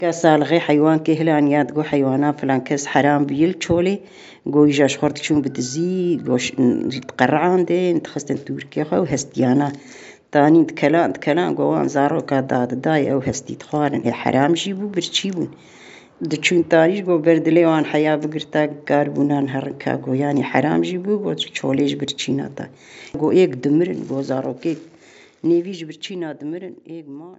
كسالغي حيوان كهلان ياد جو حيوانات فلان كس حرام بيل تشولي جو يجاش خورت شون بتزي جوش تقرعان دي نتخستن تركيا خو هستيانا تاني تكلان جوان زارو كاداد داي أو هستي تخارن هي حرام جيبو برتشيبون دچون تانيش جو بردلي وان حياة بقرتا قاربونان هرنكا جو يعني حرام جيبو جو تشوليش برتشينا تا جو ايك دمرن جو زارو كيك نيفيج برتشينا دمرن ايك مان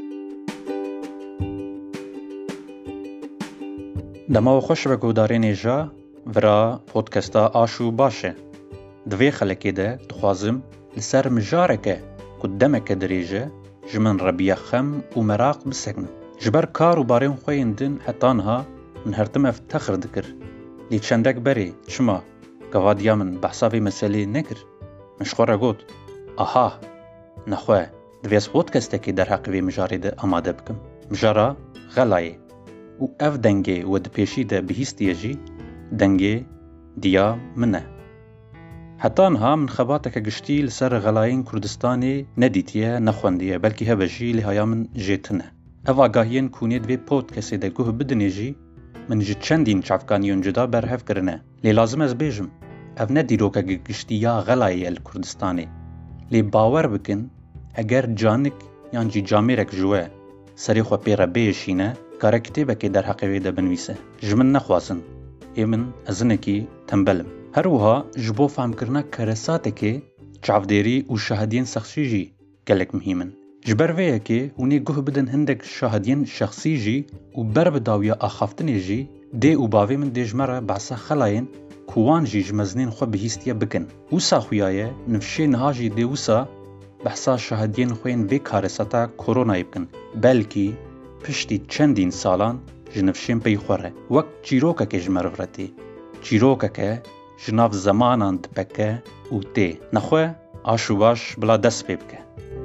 دما خوش به گودارین جا ورا پودکستا آشو باشه دوی خلکی ده دخوازم لسر مجارکه قدامك دریجه جمن ربیه خم و مراق بسکنم جبر کار و بارین خویندن حتانها من هرتم افتخر دکر لی چندک بری چما گوادیا من بحثاوی مسئله نکر مشخوره گود آها نخواه دویز پودکسته که در حقوی مجاری ده آماده بکم مجارا غلایه و اف دنگه و دپیشی ده بهیستیه جی دنگه دیا منه حتی انها من خباتك گشتی لسر غلاین کردستانی ندیتیه نخوندیه بلکه هبه جی لحایا من جیتنه اف آگاهین کونی دوی پودکسته ده گوه بدنی جی من جی چندین چافکانیون جدا برهف کرنه لی لازم از بیجم اف ندیروکه گشتی یا غلایه الکردستانی لی باور بکن اگر جانک یان جی جامیرک جوه سری خو پیره بیشینه کار کتابه که در حقیقی ده بنویسه جمن نخواسن ایمن ازنکی تنبلم هر وها جبو فهم کرنا کرساته که چافدیری و شهادین شخصی جی گلک مهمن جبر ویه که اونی گوه بدن هندک شهادین شخصی جی و بر بداویا آخافتنی جی ده و باوی من دیجمره بحثا خلاین کوان جی جمزنین خو بهیستیا بکن وسا خویایه نفشه نهاجی ده وسا بحثا شهادین خوین وی کارساتا کرونا یبکن بلکی پشتی چندین سالان جنفشین پی خوره وقت چیروکا که جمرورتی چیروکا که جناف زمانان دپکه او تی نخواه آشو باش بلا دست پی بکه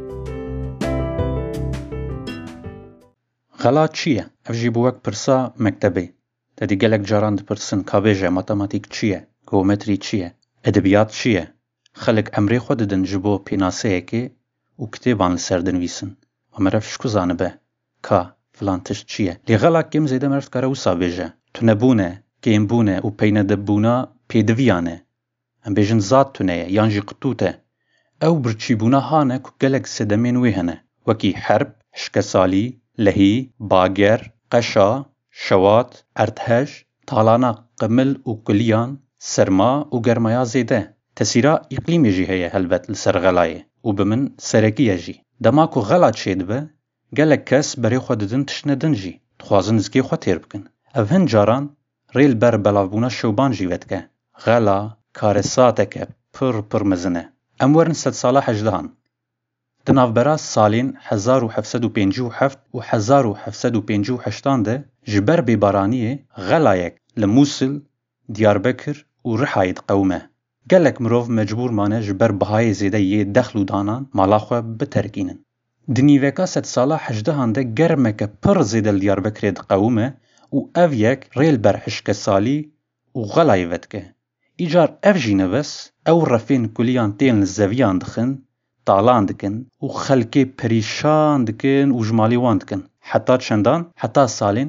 غلا چیه؟ افجی بوک پرسا مکتبی تدی گلک جاران پرسن کابیجه ماتماتیک چیه؟ گومتری چیه؟ ادبیات چیه؟ خلق امری خود دن جبو پیناسه که او کتیبان لسردن ویسن و مرف شکو زانبه که فلان تشت چیه لی غلاک کم زیده مرفت کاره وسا بیجه تو نبونه کم بونه و پینه دبونه پیدویانه ام بیجن زاد تونه یانجی قطوته او برچی بونه هانه که گلک سدمین ویهنه وکی حرب شکسالی لهی باگر قشا شوات ارتهش تالانا قمل و کلیان سرما و گرمایا زیده تسیرا اقلیمی جی هیه هلبت لسر غلایه و بمن سرکیه جی دماکو غلا چید به گلک کس برای خود دن تشنه دنجی تخوازن زکی خود تیر بکن او هن جاران ریل بر بلاوبونا شوبان جیوید که غلا کارساته که پر مزنه امورن 100 ساله 18 دناف برا سالین 1757 و 1758 ده جبر بیبارانیه غلایک لموسل دیاربکر و رحاید قومه گلک مروف مجبور مانه جبر بهای زیده یه دخل و دانان مالاخوه بترکینن دنیوکا 100 ساله 18 ده گرمکه پر زیده دیاربکر قومه و او یک ریل بر حشک سالی و غلای ودکه ایجار اف جینه بس او رفین کلیان تین زویان دخن تالان دکن و خلکی پریشان دکن و جمالی وان دکن حتی چندان حتی سالین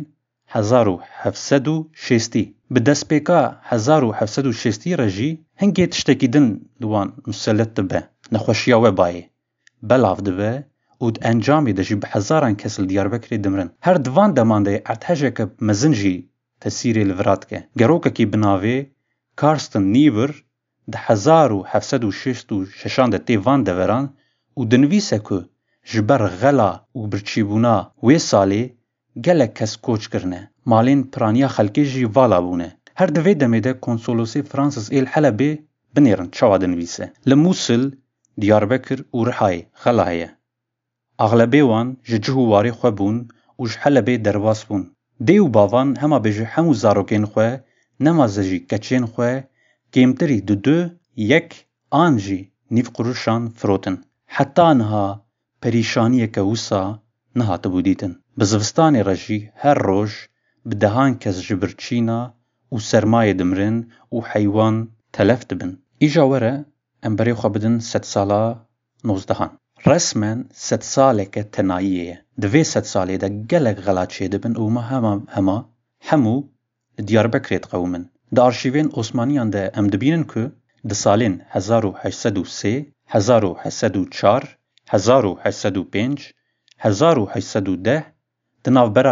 1760 بدست پیکا 1760 رجی هنگی تشتکی دن دوان مسلط دبه نخوشیا و بایه بلاف دبه و انجامی ده جی بحزاران کسل دیاربکری دمرن هر دوان دمانده ارتهجه که مزنجی تسیری لورات که گروکه کی بناوه کارستن نیور ده 1766 ده تیوان دوران و دنویسه که جبر غلا و برچیبونا وی سالی گلک کس کوچ کرنه مالین پرانیا خلکی جی والا بونه هر دوی دمیده کنسولوسی فرانسیس ایل حلبه بنیرن چوا دنویسه لموسل دیاربکر و رحای غلایه اغلبی وان جهو واری خو بون و حلبه درواس بون دیو باوان هما بجه همو زاروکین خو نمازجی کچین خو کمتری دو یک آنجی نیف قروشان فروتن حتی انها پریشانی که وسا نهات بودیتن بزوستان رجی هر روز بدهان کس جبرچینا و سرمایه دمرن و حیوان تلف دبن ایجا وره امبری خو بدن 100 ساله 19 رسما 100 سالك تناية دوی 100 ساله ده گلک غلط شده بن و ما همو دیاربکر قومن ده آرشیوین عثمانیان ده ام دبینن که ده سالین 1803 1804 1805 1810 ده نوبرا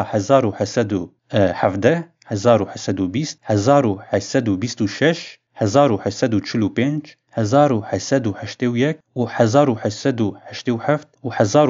1817 1820 1826 1845 1881 و 1887 و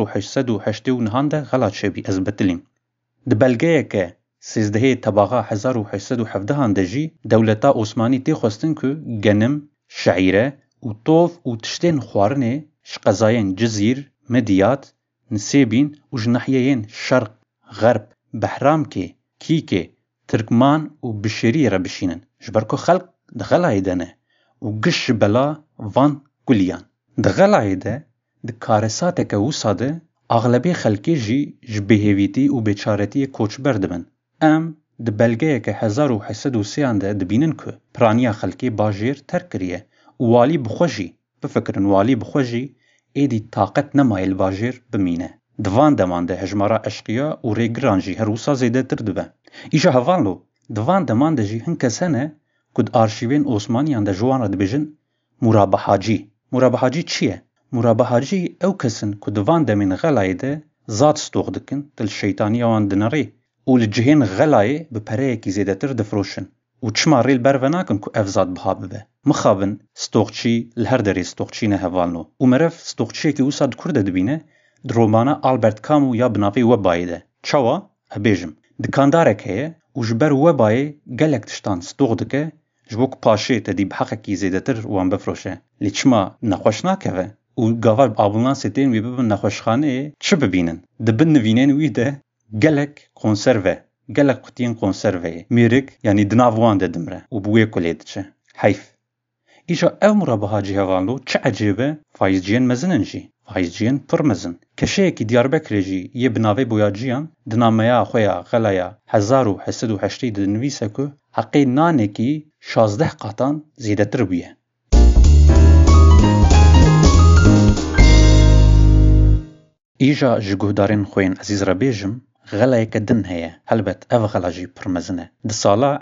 1889 ده غلط شبی از بتلیم. ده بلگه که 13 طبقه 1817 ده جی دولتا عثمانی تی خواستن که گنم، شعیره و طوف و تشتین خوارنه شقزاین جزیر، مدیات، نسیبین و جناحیین شرق، غرب، بحرام که، کیکه، ترکمان و بشری را بشینن. جبرکو خلق ده غلای دنه و گش بلا وان گلیان. ده غلای ده کارساته که وصاده اغلبی خلقی جی جبهویتی و بیچارتی کوچبر دبن. ام ده بلگه که 1803 ده دبینن که پرانیا خلقی باجیر ترک کریه و والی بخوشی بفکرن والی بخوشی ایدی طاقت نمایل باجیر بمینه. دوان دمان ده هجمارا اشقیا و ریگران جی هر وصا زیده تر دبه. ایشا هفان لو دوان دمان ده جی هنکه سنه کد آرشیوین عثمانیان ده جوان را دبیجن مرابحاجی. مرابحاجی چیه؟ مرابحاجی او کسن که دوان دمین غلای ده زاد ستوغ دکن دل شیطانی وان دنری و لجهین غلای بپره کی زیده تر دفروشن و چما ریل بروناکن که افزاد بها ببه. مخابن ستوغچی لهر داری ستوغچی نه هوالنو و مرف ستوغچی که اوساد کرده دبینه درومانه آلبرت کامو یا بنافی وبایی ده. چاوا؟ ابیجم. دکانداره که و جبر وبایی گلک تشتان ستوغ دکه جبوک پاشه تدی بحقه کی زیده تر وان بفروشه. لی چما نخوش ناکوه و گاوار آبولان ستین وی ببن نخوشخانه چه ببینن؟ دبن نوینین وی ده گلک کنسروه گلک قطین کنسروه میرک یعنی دناوان ده دمره و بوی کلید چه حیف. ایشا او مرابحاجی هوانلو چه عجیبه فایزجین مزنن جی فایزجین پر مزن کشه کی دیاربکر جی یه بناوه بویاجیان دنامیا خویا غلایا 1808 دنویسه که حقی نانه کی 16 قطان زیده تر بیه. ایجا جگودارین خوین عزیز را بیجم غلای که دن هیه هلبت او غلاجی پرمزنه. ده سالا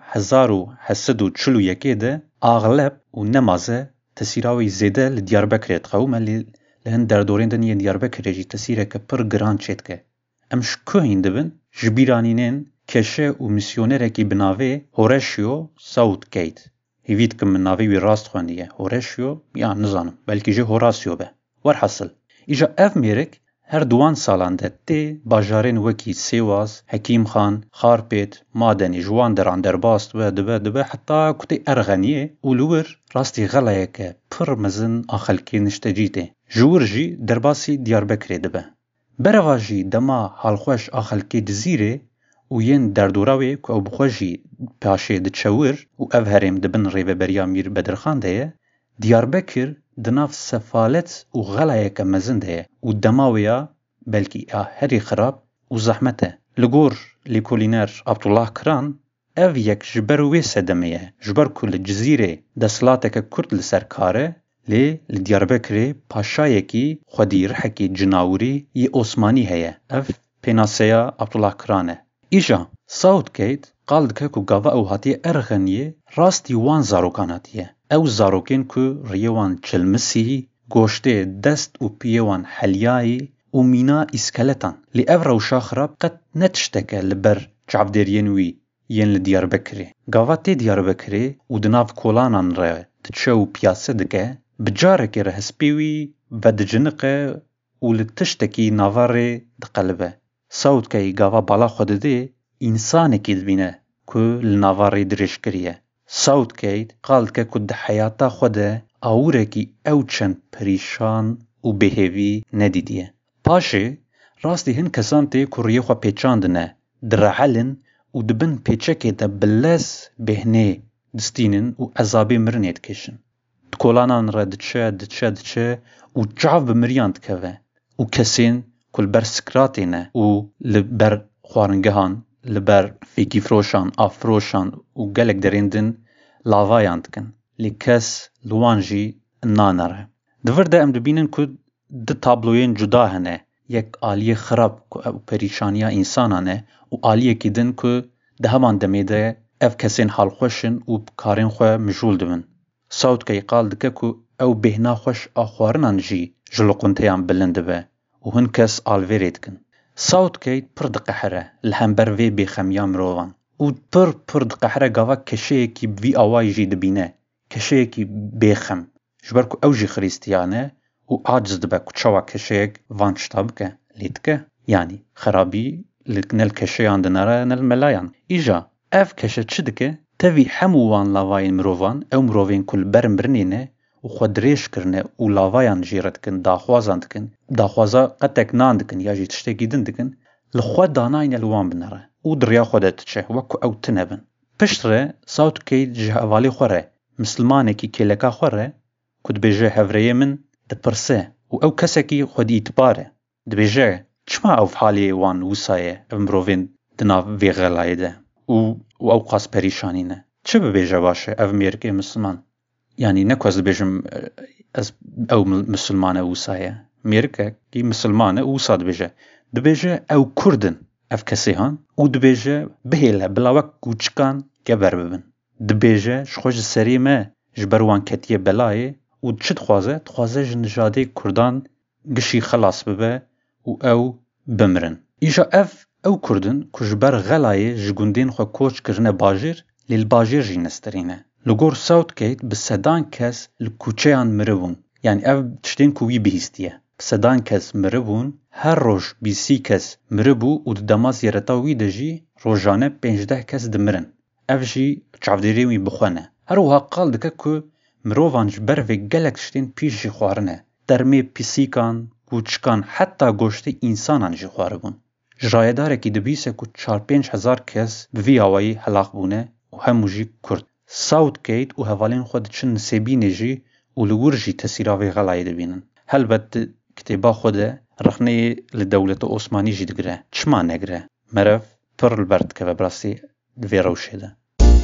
1841 ده اغلب و نمازه تسیراوی زیده لدیاربکر قومه لهن دردورین دنیه دیاربکر جی تسیره که پر گران چید که. امش که این دبن جبیرانینین کشه و میسیونره کی بناوه هورشیو ساوت گیت. هیوید که من ناوی وی راست خوانیه هورشیو یا نزانم بلکه جه هوراسیو به. ورحصل ایجا اف میرک هر دوان سالان ده تی باجارین وکی سیواز، حکیم خان، خارپیت، مادنی جوان دران درباست و دبه حتی کتی ارغنیه اولور راستی غلایه که پر مزن آخلکی نشتجیده. جور جی درباسی دیاربکر دبه. برواجی دما حالخوش آخلکی دزیره و ین دردوراوی که او بخوشی پاشه دچور و او هرم دبن ریو بریا میر بدرخان ده دیاربکر دناف سفالت و غلایه که مزن ده و دماویا بلکی هری خراب و زحمته. لگور لیکولینر عبدالله کران او یک جبر ویسه دمیه جبر کل جزیره دسلاته که کرد لسرکاره لی لدیاربکر پاشایه کی خودی رحکی جناوری ی عثمانی هیه او پیناسیا عبدالله کرانه. ایجا ساوت کیت قالد که گاوا او هاتی ارغنیه راستی وان زاروکاناتیه. او زاروکین که ریوان چلمسی گوشته دست و پیوان حلیایی و مینا اسکلتان لی او روشا خراب قد نتشتکه لبر جعبدرینوی ین لدیاربکری. گاوا تی دیاربکری و دناف کولانان را تچو پیاسه دکه بجاره که رهسپیوی و دجنقه و لتشتکی نواره دقلبه. ساوت که گاوا بالا خود ده انسانه که دبینه که لنواره درش کریه. ساوت کیت قالد که کد حیاتا خوده آوره کی او چند پریشان و بهوی ندیدیه. پاشه راستی هن کسان تی کریه خوا پیچاندنه درعلن و دبن پیچه که ده بلس بهنه دستینن و عذابی مرنید کشن. دکولانان را دچه و جعب مریاند که و کسین کل بر سکراتینه و لبر خوارنگهان لبر فیکی فروشان آفروشان و گلک دریندن لاوایاند کن لی کس لوانجی نانره. دور ده ام دبینن که دو تابلوین جدا هنه، یک آلیه خراب که او پریشانیا انسانانه و آلیه که دن که ده همان دمیده اف کسین حال خوشن و کارین خواه مجول دون. صوت که قال دکه که او بهنا خوش آخوارنان جی جلقونتیان بلنده به و هن کس آلویرید کن. صوت که پر دقحره لحنبر وی بخمیا مروان و پر دقحره گاوا کشه که بی آوائی جی دبینه، کشه که بخم جبر که او جی خریستیانه و عاجز دبه کچوا کشه وان شتاب که لید که یعنی خرابی نل کشه اندناره نل ملایان ایجا اف کشه چه دکه تاوی هموان لاواین مروان او مروین کل برم برنینه و خود ریش کرنه و لاوایان جیرد کن داخوازان دکن داخوازا قطک نان دکن یا جی تشتگی دن دکن لخواد داناین الوان بنره و دریا خودت چه وکو او تنبن پشتره صوت که جهوالی خوره مسلمانه که کلکا خوره کد بیجه هفریه من دپرسه و او کسی که خود ایتباره دبیجه چما او حالی وان وسایه امروین دنا وی غلایده و او قاس پریشانینه چه ببیجه باشه او میرکه مسلمان یعنی نکوز بيجم او مسلمانه وسایه میرکه کی مسلمانه وساد دبیجه او کردن اف کسی هان و دبیجه بهیله بلاوک کوچکان گبر ببن دبیجه شخوش سریمه جبروان کتیه بلایه و چه تخوازه جنجاده کردان گشی خلاص ببه و او بمرن ایجا اف او کردن کجبر غلایه جگوندین خو کوچ کرنه باجیر لیل باجیر جی نسترینه لگور صوت کهید بسدان کس لکوچهان مربون یعنی او چتین کوی بهیستیه بسدان کس مربون هر روش 20 کس مربو و دماز یرتاوی دجی روزانه 15 کس دمرن اف جی چاودیری وی بخونه هر وها قال دکه که مروان جبر و گلک چتین پیش جی خوارنه درمی پیسیکان کوچکان حتی گوشت انسانان جی خواربون جرایداره که دبیسه که 4-5 هزار کس بوی آوائی حلاق بونه و همو جی کرد صوت کهید و هوالین خود چن نسیبینه جی و لور جی تسیراوی غلای دبینن هلبت کتابا خود رخنه لدولت عثمانی جی دگره چما نگره مرف پر البرد که براسی دوی روشه ده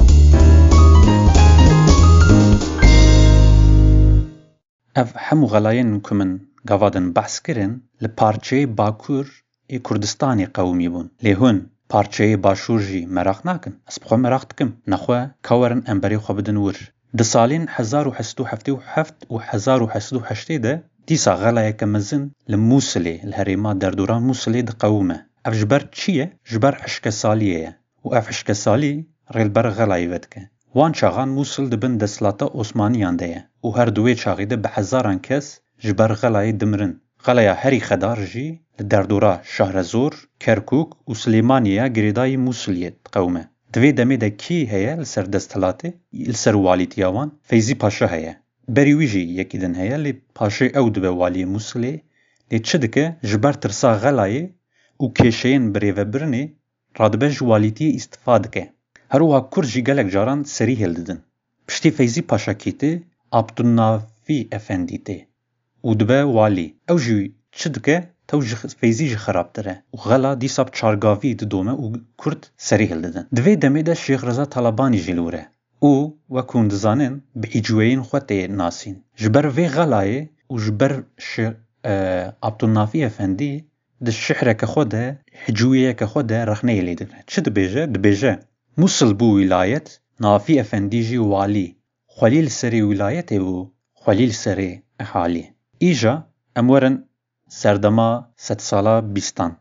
اف همو غلاین کمن گوادن بحث کرن لپارچه باکور ای کردستانی قومی بون لیهون پارچه باشور جی مراق ناکن از بخوا مراق دکم نخواه کورن امبری خواه بدن ور ده سالین 1877 و 1808 ده دیسا غلایه که مزن لموسلی الهریما در دوران موسلی ده قومه اف جبر چیه؟ جبر حشک سالیه و اف حشک سالی ریل بر غلایه ودکه وان چاغان موسل ده بن دسلاتا عثمانیان ده و هر دوی چاغی ده به هزاران کس جبر غلایه دمرن غلایه هری خدار جی در دورا شهرزور، کرکوک و سلیمانیه گریدای موسلیت قومه. دوی دمی ده کی هیا لسر دستلاته؟ لسر والیتیاوان فیزی پاشا هیا. بریویجی یکی دن هیا لی پاشا او دو والی موسلی لی چه دکه جبر ترسا غلایه و کشین بریوه برنه رادبه والیتی استفاده که. هروها کرجی گلک جاران سری هل ددن. پشتی فیزی پاشا کیته عبدالنافی افندی ته. و دو والی. او جوی چه دکه توجه فیزی خراب تره و غلا دیساب چارگاوی دومه و کرد سری هل ددن دوی دمه ده شیخ رضا طالبانی جلوره او وکون دزانن به ایجوین خواته ناسین جبر وی غلایه و جبر عبدالنافی افندی ده شحره که خوده حجویه که خوده رخنه لیدنه چه دبیجه موصل بو ولایت نافی افندی جی والی خلیل سری ولایت و خلیل سری احالی ایجا امورن سردما 100 سالا بیستان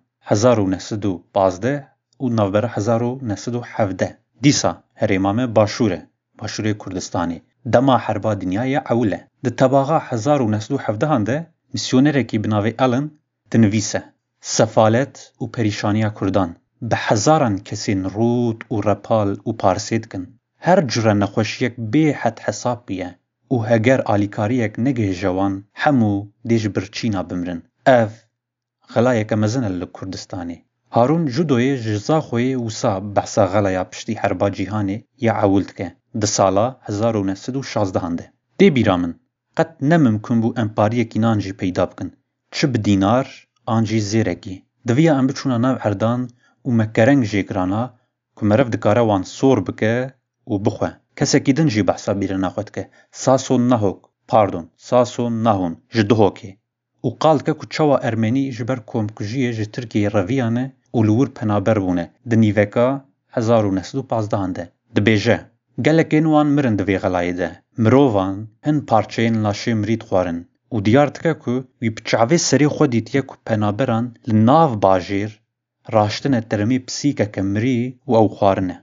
1915 و نوبر 1917 دیسا هریمام باشوره کردستانی دما حربا دنیای اوله ده تباغا 1917 هنده میسیونره کی بناوی آلن دنویسه سفالت و پریشانیا کردان به هزاران کسین رود و رپال و پارسید کن هر جره نخوشیک به حد حساب بیه و هگر آلیکاریک نگه جوان همو دیج برچینا بمرن اف غلایه که مزن لکردستانی هارون جدوی جزا خوی وسا بحثا غلایا پشتی حربا جیهانی یا عولد که ده سالا 1916 هنده دی بیرامن قد نممکن بو امپاریه کی نانجی پیدا بکن چه بدینار آنجی زیرکی دویا ام بچونا ناو اردان و مکرنگ جیگرانا که مرف دکاره وان سور بکه و بخواه کسی که دنجی بحثا بیره نخواد که ساسون نهون جدهو که و قال که چوا ارمنی جبر کمکجیه جه ترکیه رویانه و لور پنابر بونه ده نیوکا 1915 ده بیجه گلکین وان مرن دوی غلایه ده مرووان هن پارچین لاشه مرید خوارن و دیارت که وی بچعوه سری خودیت یک پنابران لناف باجیر راشتن ترمی پسیکه کمری و او خوارنه.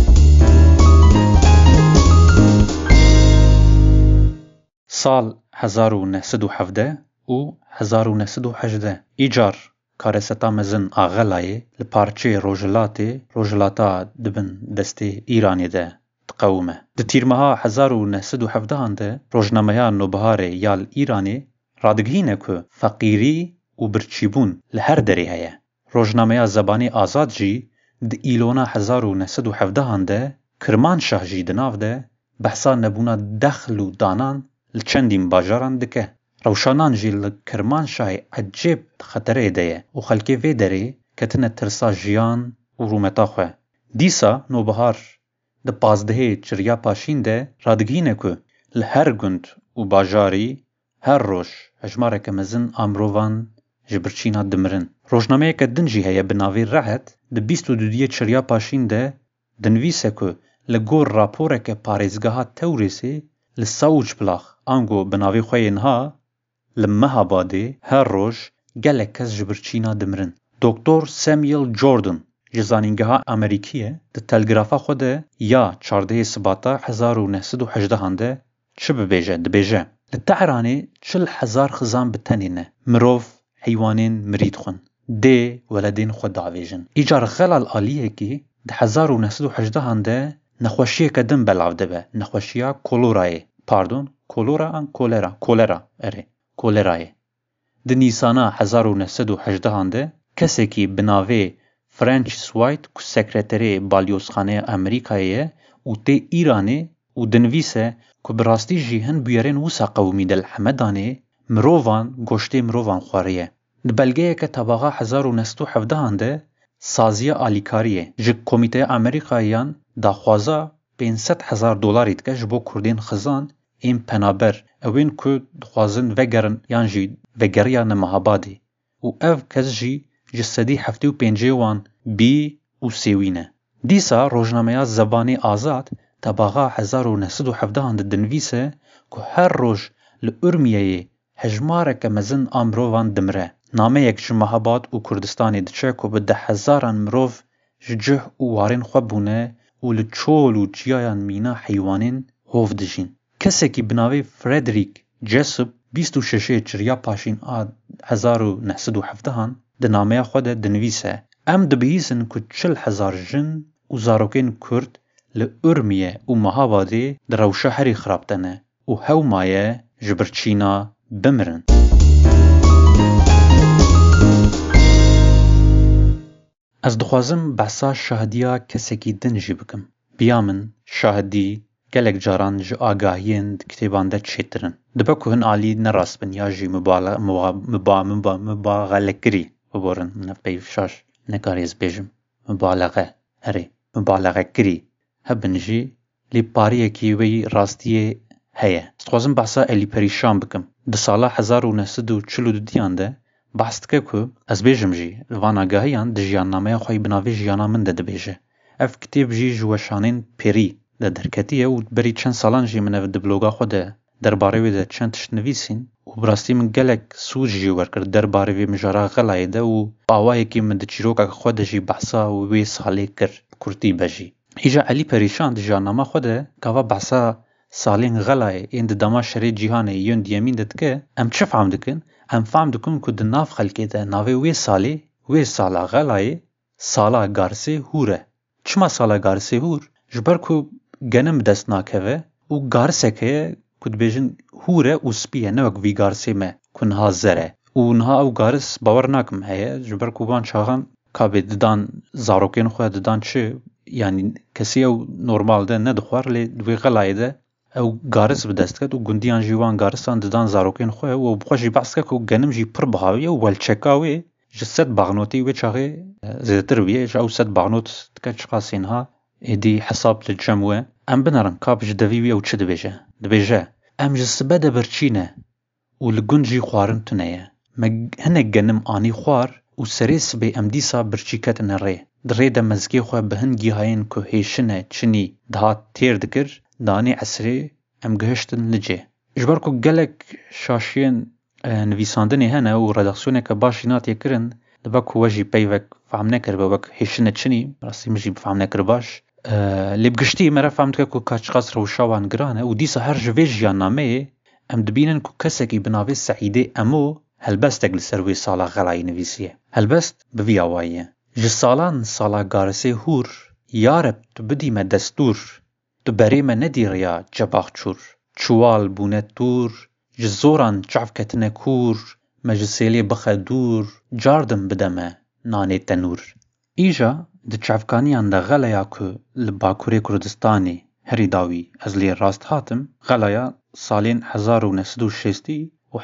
سال 1917 و 1918 ایجار کارستا مزن آغلایه لپارچه روژلاتا دبن دسته ایرانی ده تقومه. ده تیرمها 1917 ده روژنامه نوبهاره یال ایرانی رادگهینه که فقیری و برچیبون لهر دری هیه. روژنامه زبانی آزاد جی ده ایلونا 1917 ده کرمانشاه جی دناف ده بحثا نبونا دخل و دانان لچندیم باجاران دکه. روشانان جی لکرمانشاه عجیب خطره ده و خلکه وی داره کتنه ترسا جیان و رومتا خواه. دیسا نوبهار ده 15 چریا پاشین ده رادگینه که لهر گند و باجاری هر روش هجماره که مزن امروان جبرچینا دمرن. روشنامه که دنجی هیا بناوی راحت ده 22 چریا پاشین ده دنویسه که لگور راپوره که پارزگاه توریسی لساوج بلاخ آنگو بناوی خوینها لمهاباده هر روش گلک کس جبرچینا دمرن. دکتر سامیل جوردن جزانینگاه امریکیه ده تلگرافا خوده یا 14 سباتا 1918 ده چه ببیجه؟ دبیجه لتعرانه 40,000 خزان بتنینه مروف حیوانین مرید خون ده ولدین خود دعویجن. ایجار خلال آلیه که ده 1918 ده نخوشیه که دم بلاو دبه نخوشیه کولورایه کولرای ده نیسانا 1918 ده کسی که بناوه فرانچیس وایت که سکرتری بالیوزخانه امریکایه و ته ایرانه و دنویسه که براستی جیهن بیارین وسا قومی دل حمدانه مرووان گوشته مرووان خواریه. ده بلگه که طبقه 1917 ده سازیه آلیکاریه جه کمیته امریکاییان دا خوازا $500,000 که جبو کردین خزان این پنابر اوین که خوازن وگرن یان جی وگریان مهابادی و او کس جی جسدی 75 وان بی و سیوینه. دیسا روژنامه زبانی آزاد طبقه 1917 ده دنویسه که هر روز لارمیه هجماره که مزن امروان دمره. نامه یک جمهاباد و کردستانی دچه که به 10,000 مروف جه و وارین خوابونه و لچول و جیایان مینا حیوانین هوف دجین. کسی که بناوی فردریک جسوب 26 چریا پاشین 1917 ده نامه خود دنویسه ام دبیسن که 40,000 جن و زاروکین کرد لارمیه و مهاباده در روشه هری خرابتنه و هاو مایه جبرچینا بمرن. از دخوازم بحثا شاهدیا کسی که دنجی بکم. بیامن شاهدی گلک جاران جو آگاهیند کتابان ده چیترن. دبا که هن آلی نراست بن یا جی مبالغه ببورن نفبی فشاش نکاریز بیجم مبالغه کری هبن جی لی پاریه کی وی راستیه هیه. دخوازم بحثا الی پریشان بکم. ده سالا 1942 ده بحث که از بیجم جی وان آگاهیان ده جیان نامه خواهی بناوی جیانا من ده بیجه. اف کتاب جی جوشانین پیری ده درکتیه و بری چند سالان جی منو ده بلوگا خوده در باروی ده چند تشت نویسین و براستی من گلک سوز جی ورکرد در باروی مجارا غلای ده و باوایی که من ده چیروکا خوده جی بحثا و وی سالی کر کرتی بجی. ایجا علی پریشان ده جانامه خوده که بحثا سالین غلای این ده دما شری جیهانه یون دیمین ده که ام چه فهم دکن؟ ام فهم دکن که ده ناف خلقی ده ناوی وی سالا غلای سالا گارسی هوره. چما سالا گارسی هور؟ جبر که گنم دست ناکوه و گارسه که کد بیجن هوره و سپیه نوک وی گارسی مه کنها زره و نها او گارس باور ناکم هیه جبر که بان چاقان که ددان زاروکین خواه ددان چه یعنی کسی او نورمال ده ندخوار لی دوی غلای ده او گارس بدست کد و گندیان جیوان گارسان ددان زاروکین خواه و بخوشی بحث که گنم جی پر بحاوی و والچکاوی جسد باغنوتی و چاقی زیدتر ویه جا او ست باغنوت که چقاسین ها ایدی حساب لجموه ام بنارن کابج دویوی او چه دبیجه ام جسبه ده برچینه و لگنجی خوارن تنیه هنك جنم آني خوار و سريس بي ام ديسا برشيكتن الري دري دا مزگي خوا بهنگي هاين كو هيشنه چني دهات تير دكر داني عسري ام گهشتن لجي جباركو گلك شاشين نویساندنی هنه و رداکسیونه که باشی نات یکرن لباک وجی پیوک فهم نکر بوک هیشنه چنی راستی مجی بفهم نکر باش لبگشتی مرا فهمت که کاچ قصر و شوان گرانه و دیسا هر جوی جیان نامه ام دبینن که کسکی بناوی سعیده امو هلبستک لسروی سالا غلای نویسیه هلبست بوی آوائیه جسالان سالا گارسه هور یارب تو بدیم دستور تو بریم ندی ریا جباخ چور چوال بونت دور جزوران چعف کتنه کور مجسیلی بخدور جاردم بدمه نانه تنور ایجا ده چعفکانیان ده غلایا که لباکوری کردستانی هری داوی از لی راست هاتم غلایا سالین 1960 و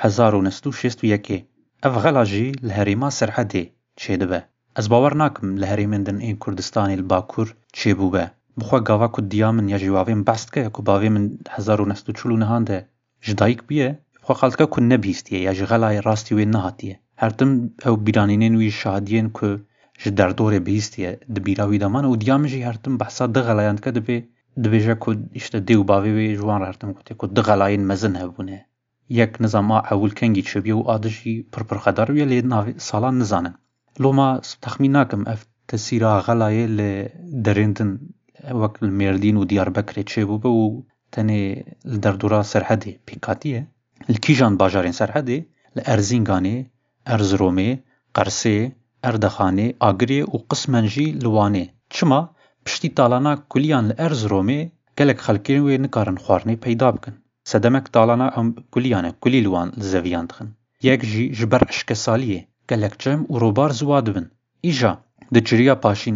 1961 اف غلاجی لهریما سرحده چه دبه از باور ناکم لهریمن دن این کردستانی لباکور چه بوبه بخوا گاوا کد دیامن یا جوابیم بست که که باوی من 1940 نهانده جدایک بیه بخوا خالتکا کن نبیستیه یا جغلای راستی وی نهاتیه هرتم او بیرانینین وی شهادیین که جدر دور بیستیه دبیراوی دامان و دیامجی هرتم بحثا دغلایاند که دبیجا کد اشتا دیو باوی وی جوان هرتم کد دغلاین مزن هبونه یک نظام اول کنگی چبیه و آدشی پر خدار وی لی سالان نزانن لو ما تخمین ناکم اف تسیرا غلای لدرندن وقت المردين وديار بكر تشيبوبه و تاني الدردورا سرحدي بيكاتيه الكيجان باجارين سرحدي الارزينغاني ارزرومي قرسي اردخاني اغري و قسمنجي لواني چما پشتی تالانا كليان الارزرومي گلك خلقين وي نكارن خوارني پیدا بکن سدمك تالانا ام كليان كلي لوان زويان دخن يك جي جبر عشق ساليه گلك جم و روبار زواد بن ایجا دجريا پاشين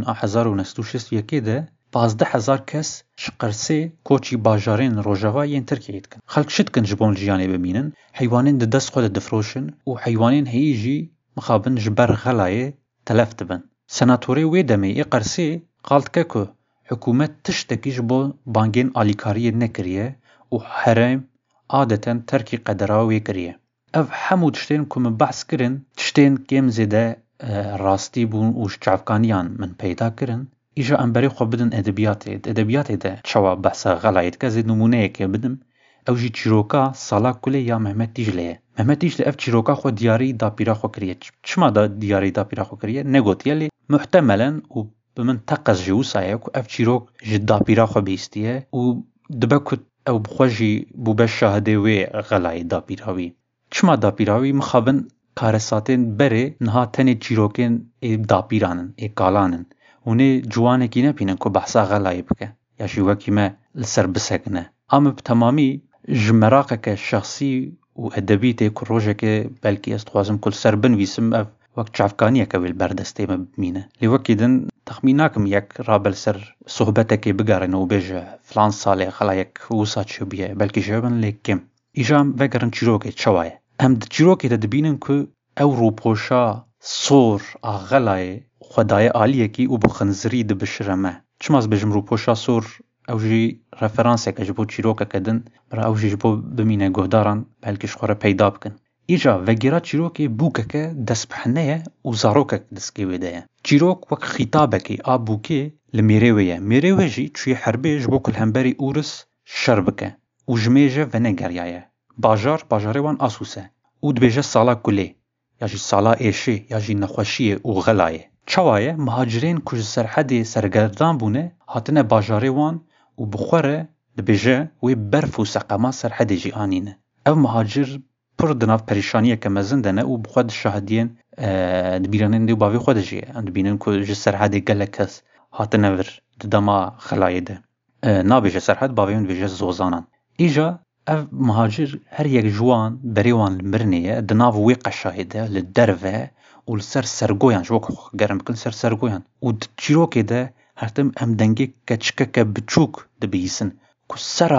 1961 ده 15,000 کس شقرسه کوچی باجارین روجاوایین ترکیه کن خلق شد کن جبون جیانه ببینن حیوانین ده دست خود دفروشن و حیوانین هیجی مخابن جبر غلایه تلفت بن سناتوری وی دمی ای قرسه قالت که حکومت تشتکی جبو بانگین آلیکاری نکریه و حرم عادتا ترکی قدراوی کریه اف همو تشتین که من بحث کرن تشتین کم زده راستی بون و شعفکانیان من پیدا کرن ایجا امبری خو بدن ادبیات ده چوا بحثا غلایت که زید نمونه که بدم او جی چیروکا سالا کلی یا محمد تیجلیه اف چیروکا خو دیاری دا پیرا خو کریه چما دا دیاری دا پیرا خو کریه نگوت یلی محتملا و بمن تقص جیو سایه که اف چیروک جد دا پیرا خو بیستیه و دبکت او بخوشی بوبه شاهده وی غلایت دا پیراوی چما دا پیراوی مخابن کارساتین بره نها تنی چیروکین دا پیرانن کالانن ونه جوانه کی نپینن که بحثا غلای بکه یا شیوکی ما لسر بسکنه اما بتمامی جمراقه که شخصی و ادبی تی که روژه که بلکی استخوازم کل سر بنویسم وقت چافکانیه که ویل بردسته ما بمینه لیوکی دن تخمیناکم یک رابل سر صحبته که بگرن و بیجه فلان ساله خلا یک وسا چو بیه بلکی جوابن لیکم ایجام وگرن چیروکه چوایه هم ده چیروکه ده دبینن که او روپوشا صور آغلای خدای عالیه کی او بخنزری ده بشرمه چماز بجم روپوشا صور او جی رفرانسه که جبو چیروکه کدن برا او جی جبو بمینه گهداران بلکش خوره پیدا بکن ایجا وگیرا چیروکه بوکه که دست بحنه و زاروکه دست که ویده چیروک وک خطابه که آب بوکه لمیرویه میروی جی چوی حربه جبو کل همبری اورس شربکه و جمیجه و نگریایه باجاره وان آسوسه او دبیجه سالا کلی یا جی سالا ایشه یا جی نخوشیه و غلایه چوایه مهاجرین کج سرحدی سرگردان بونه هاتنه باجاره وان و بخوره دبیجه وی برف و سقما سرحدی جی آنینه او مهاجر پر دناف پریشانیه که مزندنه و بخود شاهدین دبیرانین دیو باوی خود جیه دبینن کج سرحدی گله کس هاتنه ور دما خلایه ده نابیجه سرحد باویون بیجه زوزانان ایجا او مهاجر هر یک جوان بریوان المرنیه دناف وی قشاهده لدروه و لسر سرگویان جوک گرم بکن سر سرگویان و چیروکی ده هرتم ام دنگی کچکک بچوک دبیسن که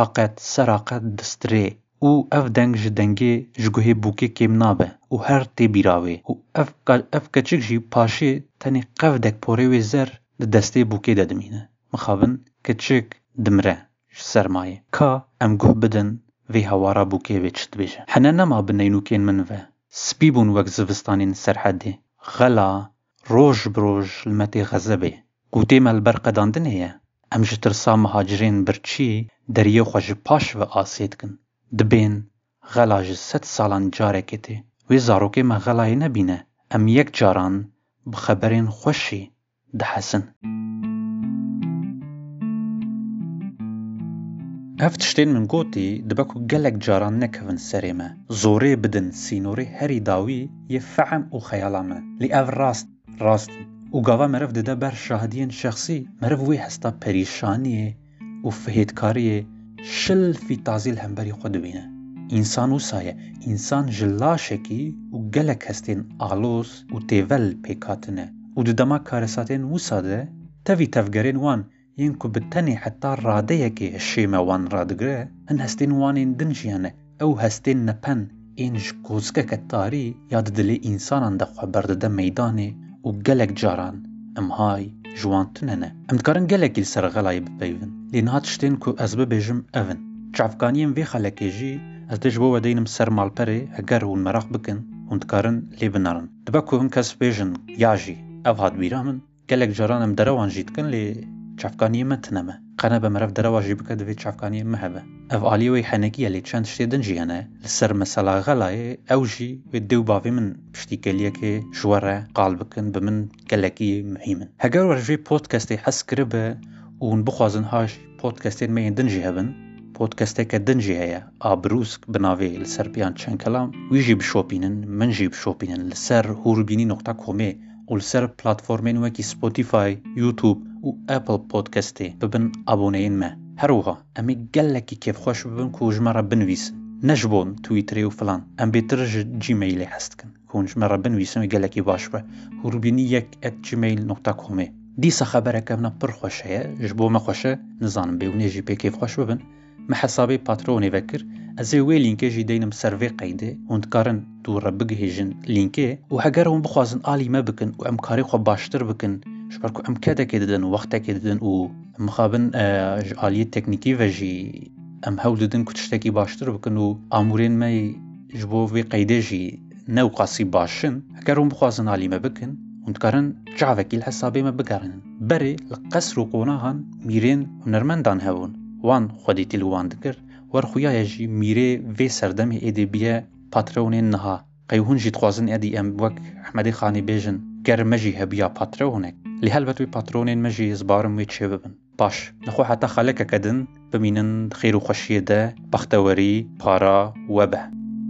سراقت دستره و اف دنگ جدنگی جگوه بوکی کم نابه و هر تی بیراوی و اف کچک جی پاشه تانی قف دک پوری زر دسته بوکی دمینه مخابن کچک دمره سرمایه که ام گوه بدن وی هوارا بوکی وی چت بیشه حنا نما بنینو کین من و سبيبون وەک زستانین سەرحەدێ غەلا ڕۆژ برۆژ لمەتێ غەزەبێ گوتێمە لەبەر قەداندن هەیە ئەم ji tirsa مهاجرên birçî deriyê xwe ji paş ve asê dikin dibên غەلا ji 100 salan carekê tê wê zarokê me غەlayê nebîne em yek caran bi xeberên xweşî dihesin. Ev tiştên min gotî dibe ku gelek caran nekevin serê me zorê bidin sînorê herî dawî yê fehem û xeyala me lê ev rast û gava meriv dide ber şahidiyên şexsî meriv wê hesta perîşaniyê û fihêtkariyê şilfî tazîl hemberî xwe dibîne. İnsan wisa ye însan ji laşekî û gelek hestên alos û têvel pêkhatine û di dema karesatên wisa de tevî tevgerên wan yên ku bi tenê heta radeyekê hişê me wan radigire hin hestên wanên din jî hene ew hestên nepen ên ji kozikeke tarî ya di dilê însanan de xwe berdide meydanê û gelek caran em hay ji wan tune ne. Em dikarin gelekî li ser غەlayê bipeyvin lê niha tiştên ku ez bibêjim ev in. Çavkaniyên vê xelekê jî ez dê ji bo we deynim ser malperê heger hûn merak bikin hûn dikarin lê binarin. Dibe ku hin kes bêjin ya jî ev hat bîra min gelek caran em derewan jî dikin lê çavkaniyê me tune me. Qene be meriv derewa jî bike divê çavkaniyê me hebe. Ev aliyê wê henekî ye lê çend tiştê din jî hene li ser mesela غەlayê ew jî wê dê û bavê min piştîkeliyekê ji we re qal bikin bi min gelekî muhîm in. Heger we ji vê podcastê hes kiribe û hûn bixwazin haş podcastên me yên din jî hebin podcasteke din jî heye Abrûsk bi navê li ser pêyan çend kelam wî jî bişopînin min jî bişopînin li ser hûrbînî.comê û li ser platformên wekî Spotify, YouTube û Apple Podcastê bibin aboneyên me. Her wiha em ê gelekî kêfxweş bibin ku ji me re binivîsin ne ji bo Twitterê û filan em bêtir ji Gmailê hes dikin ku hûn ji me re binivîsin wê gelekî baş be hûrbînî1@gmail.comê. Dîsa xebereke min pir xweş heye ji bo me xweş e nizanim bêwnê jî pê kêfxweş bibin me hesabê patronê vekir ez ê wê lînkê jî deynim ser vê qeydê hûn dikarin dû re bigihêjin lînkê û heger hûn bixwazin alî me bikin û em karê xwe baştir bikin ji ber ku em kedekê didin û wextekê didin û em mixabin ji aliyê teknîkî ve jî em hewl didin ku tiştekî baştir bikin û amûrên me ji bo vê qeydê jî ne û qasî başin heger hûn bixwazin alî me bikin hûn dikarin cavekî li hesabê me bigerînin. Berê li qesr û qonahan mîrên hunermendan hebûn wan xwedîtî li wan dikir werxuya jî mîrê vê serdemê êdî biye patronên niha qey hûn jî dixwazin edî em wek Ehmedê Xanî bêjin ger me jî hebiya patronek lê helbet wê patronên me jî zbarim wê çê bibin. Baş nixwe heta xelekeke din bimînin xêr û xweşiyê de baxtewerî para we be.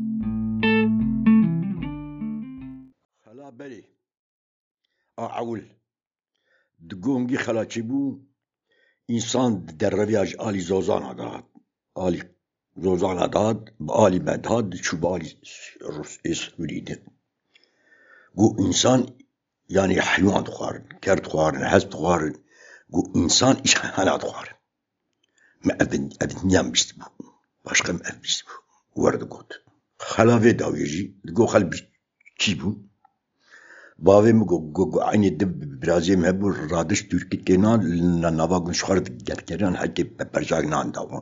Xela berê a ewil di gongî xelaçî bû însan derreviya ji alî zozana dat alî zozana dat bi alî me dat diçû bi alî Sûrî de got însan yanî heywan dixwarin ker dixwarin hez dixwarin got însan îşhana dixwarin me ev dinyam bîst bû başqa me ev bîst bû werdigot xela vê dawî jî digot xel çî bû bavê min got aynê di birazê me hebû radiş Tirkîtkenan nava gun xwar gerkeran hekê berjagnan dawan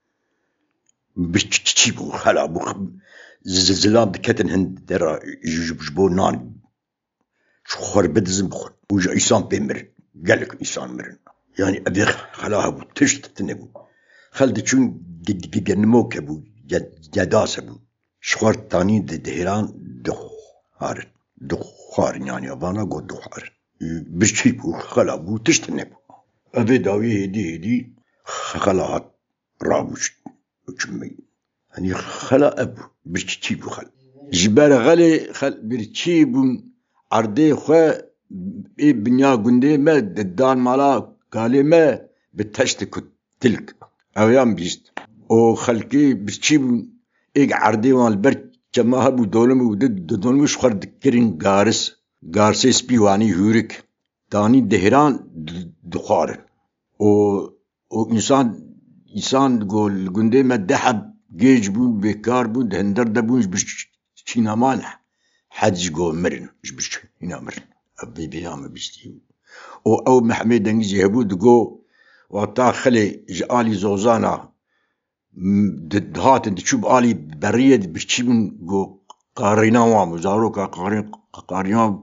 çî bû xela bû zilam diketin hin dera ji bo nan xwar bidizin bixwin û ji însan pê mirin gelek însan mirin yanî evê xela hebû tişt nebû xel diçûn genimok hebû gedas hebû ji xwar tanî dihêran dixwarin dixwarin yanî vana got dixwarin birçî bû xela bû tişt nebû evê dawî hêdî xela hat rabûşt çûmey hani xela ev birçî bû xel ji ber xelê xel birçî bûn erdê xwe ê binya gundê me dan mala kalê me bi teşt ku tilk ew bîst û xelkê birçî bûn ê erdê wan li ber çema hebû dolim û didolî ji xwar dikirin garsê spî wanî hûrik danî dihêran dixwarin û însan got li gundê me deheb gêj bûn bêkar bûn di hinder de bûn ji bir çînaman hed jî got mirin ji bir çîna mirin ev vêya me bîstî û ew mehmê dengî jî hebû digot wata xelê ji alî zozana dihatin diçû bi alî beriyê birçî bûn got قارينا وام زاروكا قارينا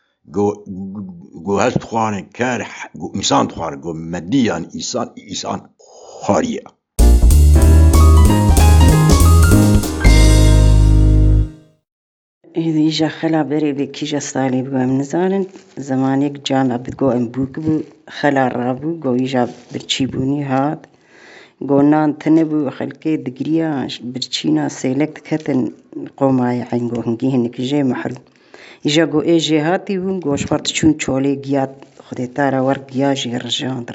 جو هست خوانه كارح جو إنسان خوانه جو ماديا إنسان خارية إذا خلا بري بكيجا صالي بقى منزارن زمانك جامع بتقو أمبوك بو خلا رابو قو يجا برشيبوني هاد قونان تنبو خلقي دقريا برشينا سيلكت كتن قوماي عين قو هنجي هنك جي محروم يجا قو اي جي هاتي بون قو شفرت شون چولي قياد خدي تارا ورق قياجي رجان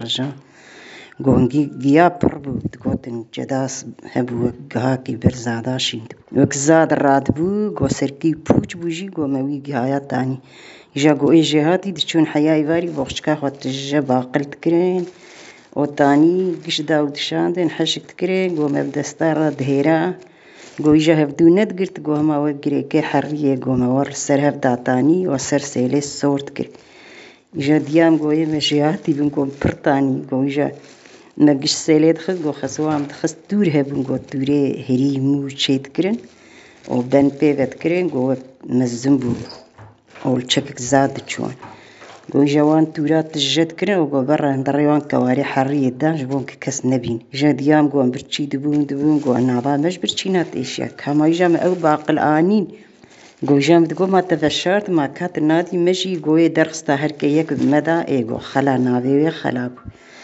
قو هنجي قياب بربو تقوتن جداس هبو قهاكي برزاداشين وكزاد الرادبو قو سركي بوچ بوجي قو موي قهايات تاني يجا قو اي جي هاتي دشون حياي فاري بوخشكا خوات الجبا قلت كرين وتاني قش داود شاندن حشك تكرين قو مبدستارا دهيرا قو يجا هفدو ندقرت قو هما وقري كي حرية قو مور سر هفدا تاني وسر سيلي صورت كري يجا ديام قو يمشياتي بنقو برتاني قو يجا نقش سيلي دخل قو خسوام دخس دور هبن قو دوري هري مو شيت كرين وبن بيفت كرين قو مزنبو أول شكك زاد تشوان قو جوان تورات الجد كرين وقو برا هندريوان كواري حرية دان جبون ككس نبين جا ديام قو برشي دبون قو نابا مش برشينات إشياء كما يجا ما أو باقل آنين قو جام تقو ما تفشرت ما كات نادي مشي قو درخستا هركيك بمدى قو خلا نابي خلاب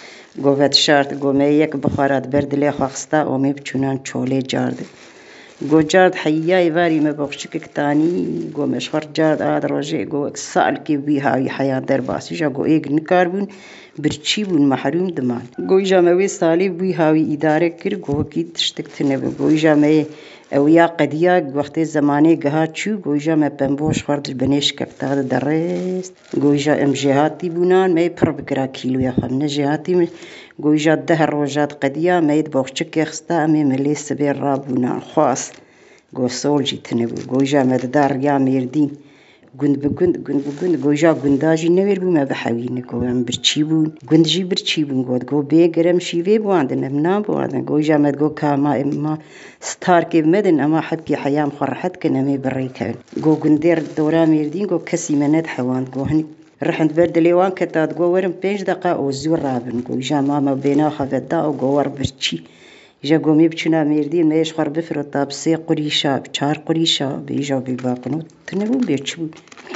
قو فتشارت قو ما يك بخارات برد لي خاخستا ومي بچونان چولي جارد قو جارد حياي فاري ما بخشكك تاني قو مشخر جارد آد روجي قو اكسال كي بيها حياة درباسي جا قو ايق نكاربون برچيبون محروم دمان قو جا موي صالي بيهاوي إدارة كر قو كيد تشتكتنبو قو جا موي اويا قديا وقت زماني قها چو قو جا ما بنبوش خورد البنيش كبتاد درست قو جا ام جهاتي بونان ما يبرب كرا كيلو يا خمنا جهاتي قو جا دهر روجات قديا ما يدبوخشك يخستا امي ملي سبير رابونان خواص قو سول جيتنبو قو جا مددار يا ميردين قند بقند قو جا قنداجي نوير بو ما بحاوين قو ام برچيبون قند جي برچيبون قو بيقرم شيوي بواندن امنا بواندن قو جا مد قو كاما اما ستار كيف مدن اما حبي حيام خرحت كنمي بريكان قو قندير دورا ميردين قو كسي مناد حوان قو هني رحند برد ليوان كتاد قو ورم 5 دقائق وزور رابن قو جا ماما بينا خفدا قو ور برچي جا قو ميبچنا ميردين ما يشخر بفرطا بسي قريشا بچار قريشا بيجا بيباقنو تنبو بيرچبو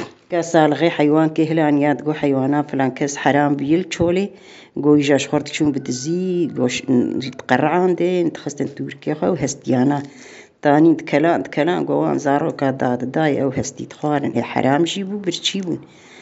كاسال غي حيوان كهلان ياد قو حيوانا فلان كاس حرام بيل چولي قو يجا شخورت چون بدزي قو تقرعان دي انتخستن توركي خو هستيانا تاني تكلان قو وان زارو كاداد داي او هستي تخوارن اي حرام جيبو برچيبون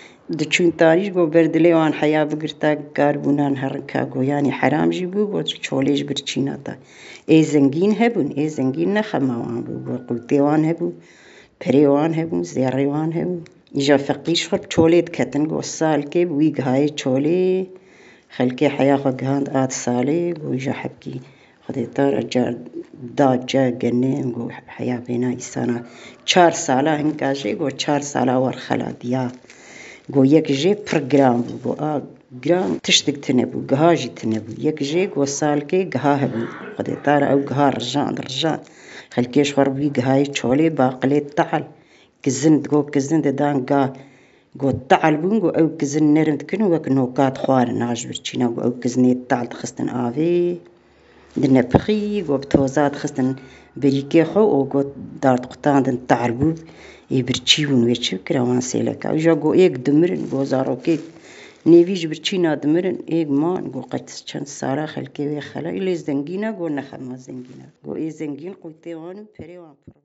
دچون تانيش قو بردلي وان حيا بقرتا قاربونان هرنكا قو يعني حرام جيبو قو چوليش برچيناتا اي زنگين هبون اي زنگين نخماوان بو قلتيوان هبو بريوان هبو زيريوان هبو يجا فقيش خرب چولي تكتن قو السال كيب ويق هاي چولي خلقي حيا خو قهاند آت سالي قو يجا حبكي خدي طار اجار داد جا قنين قو حيا بينا إسانا 4 سالا هنكاجي قو 4 سالا ورخلا ديا قو يك جي برغرام قو جرام تشتك تنبو قهاجي تنبو يك جي قو سال كي قها هبو خدي طار او قها رجان خلقيش خربي قهاي چولي باقلي تعال كزن قو كزن دان قا قو تعال بون قو او كزن نرم تكنو وك نوكات خوار ناج برچينا قو او كزني تعال تخستن آفي دنا بخي قو بتوزات خستن بريكي خو او قو دارت قطان دن تعال بو يبرچيون ويرچو كراوان سيلكا وجا قو ايك دمرن قو زاروكي نيفيج برچينا دمرن ايك مان قو قتس چند سارا خلقي وي خلا إلي زنگينا قو نخما زنگينا قو اي زنگين قوتيوانو پريوان